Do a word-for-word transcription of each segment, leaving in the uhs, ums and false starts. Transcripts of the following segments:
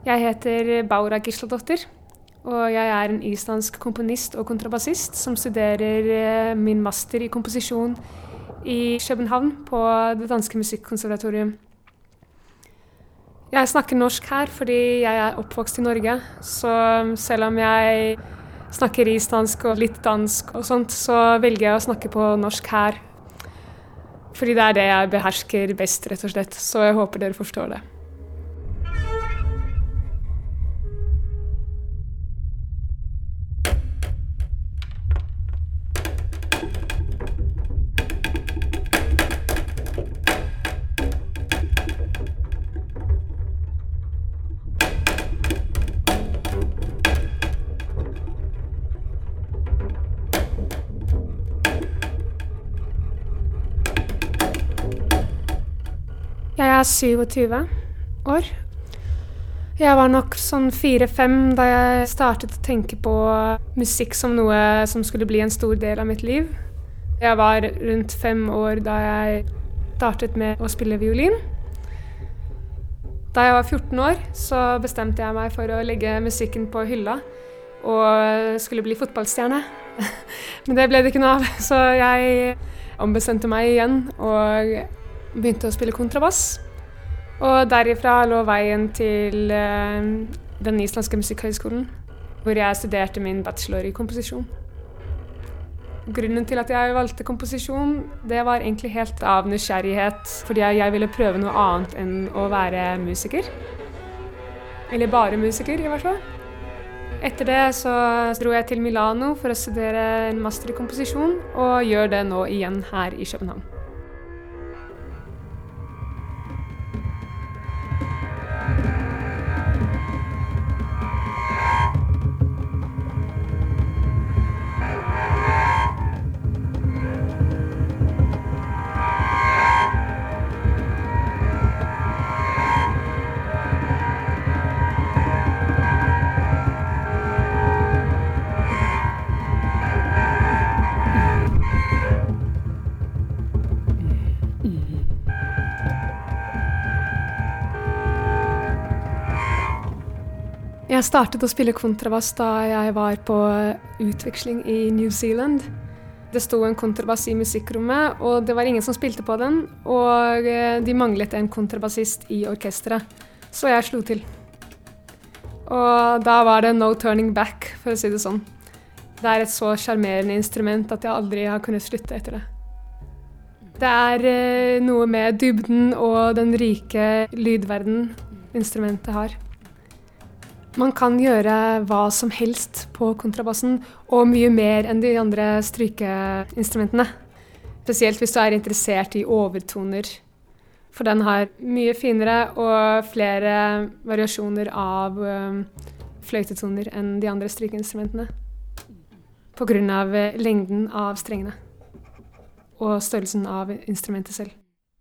Jeg heter Bára Gísladóttir, og jeg er en islandsk komponist og kontrabassist som studerer min master i komposisjon i København på det danske musikkonservatorium. Jeg snakker norsk her fordi jeg er oppvokst i Norge, så selv om jeg snakker islandsk og litt dansk og sånt, så velger jeg å snakke på norsk her. Fordi det er det jeg behersker best, rett og slett, så jeg håper dere forstår det. Jeg er syvogtyve år. Jeg var nok sånn fire-fem da jeg startet å tenke på musikk som noe som skulle bli en stor del av mitt liv. Jeg var rundt fem år da jeg startet med å spille violin. Da jeg var fjorten år så bestemte jeg meg for å legge musikken på hylla og skulle bli fotballstjerne. Men det ble det ikke noe av, så jeg ombestemte meg igjen og begynte å spille kontrabass, og derifra lå veien til uh, den islandske musikkhøgskolen, hvor jeg studerte min bachelor i komposisjon. Grunnen til at jeg valgte komposisjon, det var egentlig helt av nysgjerrighet, fordi jeg ville prøve noe annet enn å være musiker. Eller bare musiker, i hvert fall. Etter det så dro jeg til Milano for å studere en master i komposisjon, og gjør det nå igjen her i København. Jeg startet å spille kontrabass da jeg var på utveksling i New Zealand. Det sto en kontrabass i musikkrommet, og det var ingen som spilte på den, og de manglet en kontrabassist i orkestret, så jeg slo til. Og da var det no turning back, for å si det sånn. Det er et så charmerende instrument at jeg aldri har kunnet slutte etter det. Det er noe med dybden og den rike lydverden instrumentet har. Man kan gjøre hva som helst på kontrabassen, og mye mer enn de andre strykeinstrumentene. Spesielt hvis du er interessert i overtoner. For den har mye finere og flere variasjoner av um, fløytetoner enn de andre strykeinstrumentene. På grunn av lengden av strengene. Og størrelsen av instrumentet selv.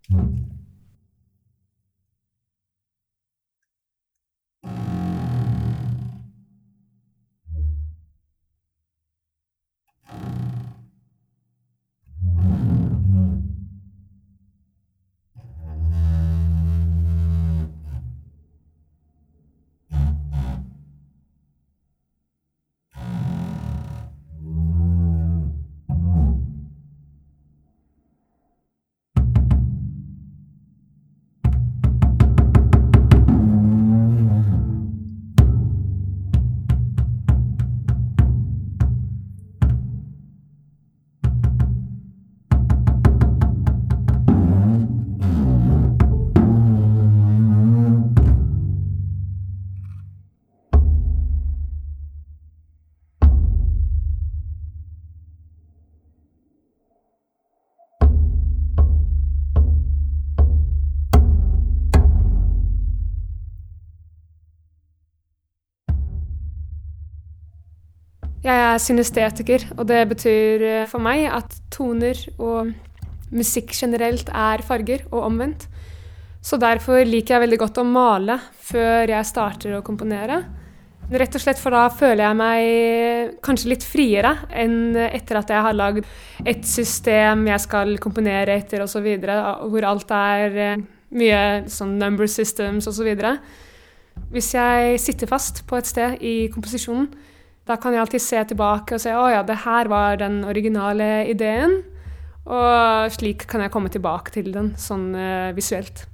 Jeg er synestetiker, og det betyr for meg at toner og musikk generelt er farger og omvendt. Så derfor liker jeg veldig godt å male før jeg starter å komponere. Rett og slett for da føler jeg meg kanskje litt friere enn etter at jeg har lagd et system jeg skal komponere etter og så videre, hvor alt er mye sånn number systems og så videre. Hvis jeg sitter fast på et sted i komposisjonen, da kan jeg alltid se tilbake og se, å ja, det her var den originale ideen, og slik kan jeg komme tilbake til den, sånn uh, visuelt.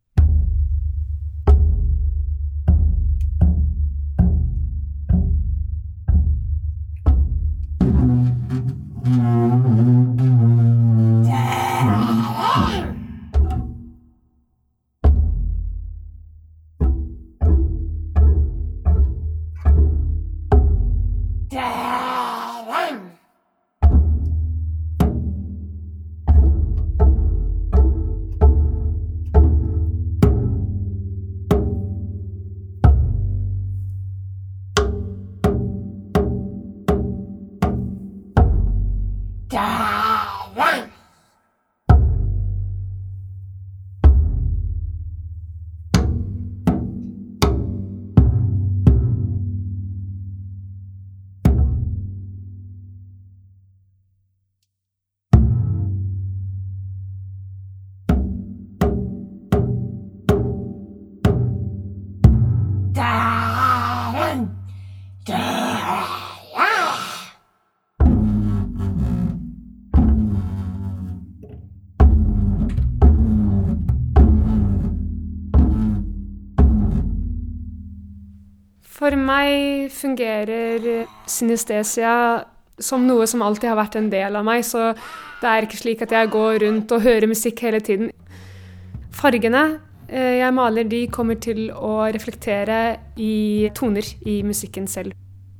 For meg fungerer synestesia som noe som alltid har vært en del av meg, så det er ikke slik at jeg går rundt og hører musikk hele tiden. Fargene jeg maler, de kommer til å reflektere i toner i musikken selv.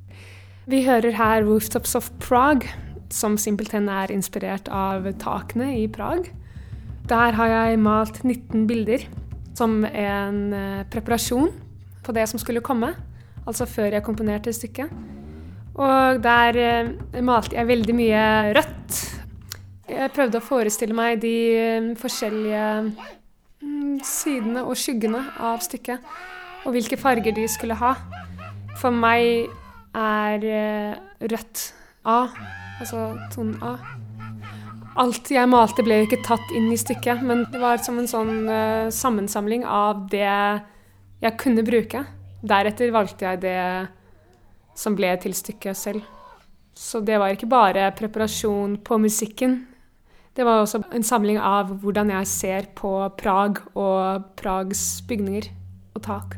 Vi hører her Rooftops of Prague, som simpelthen er inspirert av takene i Prag. Der har jeg malt nitten bilder som en preparasjon på det som skulle komme. Altså før jeg komponerte stykket. Og der eh, malte jeg veldig mye rødt. Jeg prøvde å forestille meg de eh, forskjellige mm, sidene og skyggene av stykket, og hvilke farger de skulle ha. For meg er eh, rødt A, altså tonen A. Alt jeg malte ble ikke tatt inn i stykket, men det var som en sånn eh, sammensamling av det jeg kunne bruke. Deretter valgte jeg det som ble til stykket selv. Så det var ikke bare preparasjon på musikken. Det var også en samling av hvordan jeg ser på Prag og Prags bygninger og tak.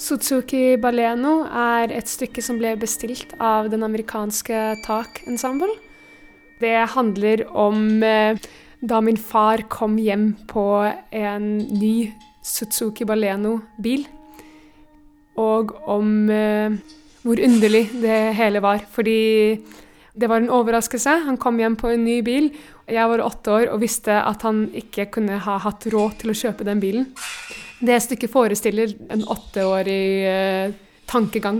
Suzuki Baleno er et stykke som ble bestilt av den amerikanske Tak Ensemble. Det handler om eh, da min far kom hjem på en ny Suzuki Baleno-bil, og om eh, hvor underlig det hele var, fordi det var en overraskelse. Han kom hjem på en ny bil. Jeg var åtte år og visste at han ikke kunne ha hatt råd til å kjøpe den bilen. Det stykket forestiller en åtteårig eh, tankegang.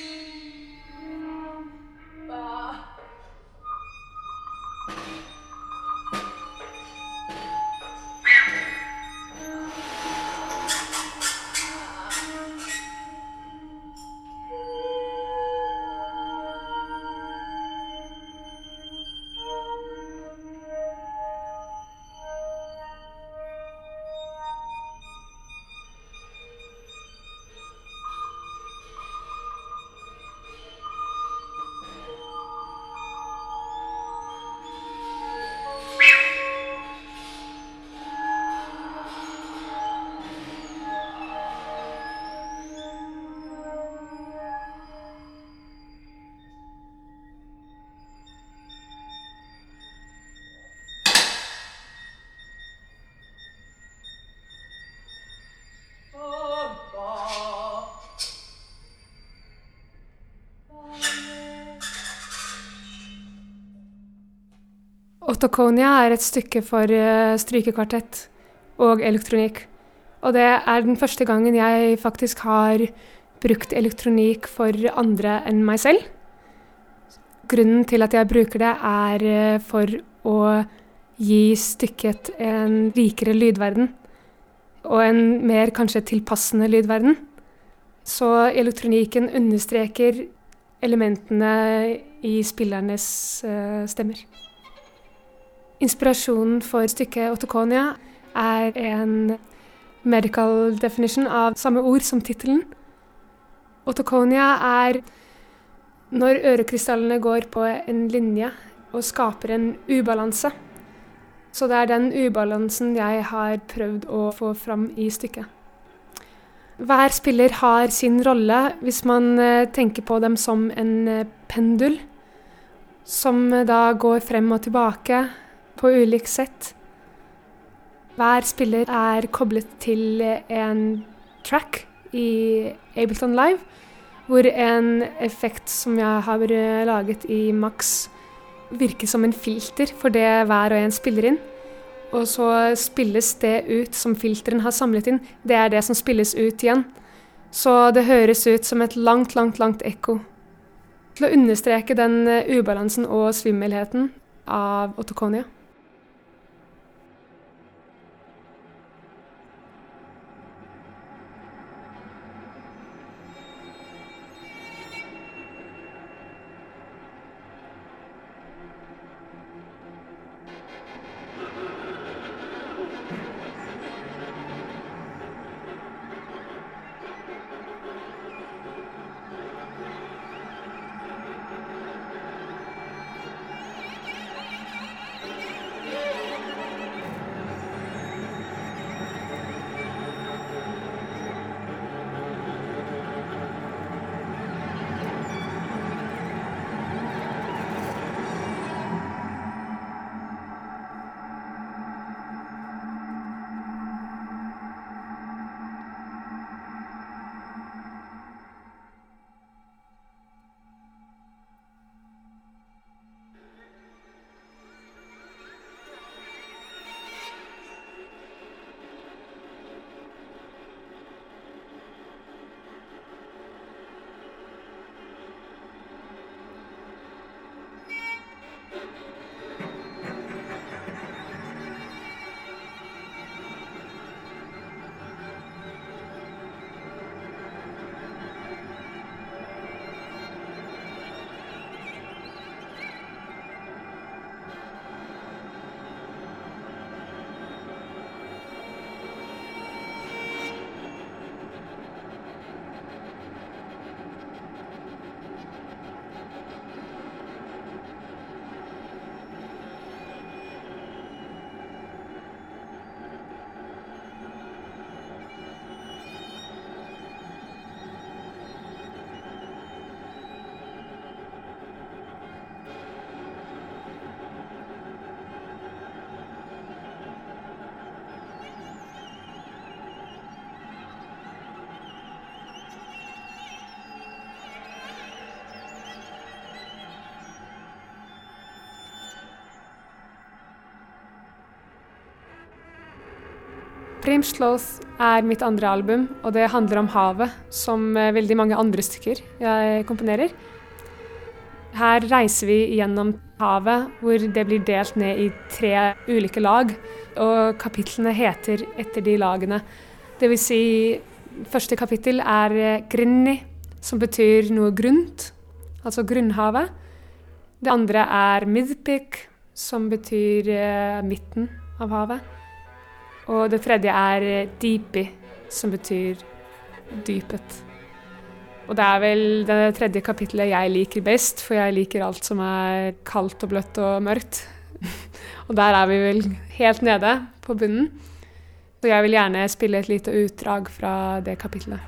Otokonia er et stykke for uh, strykekvartett og elektronikk. Og det er den første gangen jeg faktisk har brukt elektronikk for andre enn meg selv. Grunnen til at jeg bruker det er uh, for å gi stykket en rikere lydverden, og en mer kanskje tilpassende lydverden. Så elektronikken understreker elementene i spillernes uh, stemmer. Inspirasjonen for stykket Otokonia er en medical definition av samme ord som titelen. Otokonia er når ørekrystallene går på en linje og skaper en ubalanse. Så det er den ubalansen jeg har prøvd å få fram i stykket. Hver spiller har sin rolle hvis man tenker på dem som en pendul, som da går frem og tilbake på ulik sett. Hver spiller er koblet til en track i Ableton Live, hvor en effekt som jeg har laget i Max virker som en filter for det hver og en spiller inn. Og så spilles det ut som filteren har samlet inn. Det er det som spilles ut igjen. Så det høres ut som et langt, langt, langt ekko. Til å understreke den ubalansen og svimmelheten av Otokonia. Primsloth er mitt andre album, og det handler om havet, som veldig mange andre stykker jeg komponerer. Her reiser vi gjennom havet, hvor det blir delt ned i tre ulike lag, og kapitlene heter etter de lagene. Det vil si, første kapittel er Grinni, som betyr noe grunt, altså grunnhavet. Det andre er Midpik, som betyr eh, midten av havet. Og det tredje er Deepi, som betyr dypet. Og det er vel det tredje kapitlet jeg liker best, for jeg liker alt som er kaldt og bløtt og mørkt. Og der er vi vel helt nede på bunnen. Så jeg vil gjerne spille et lite utdrag fra det kapitlet.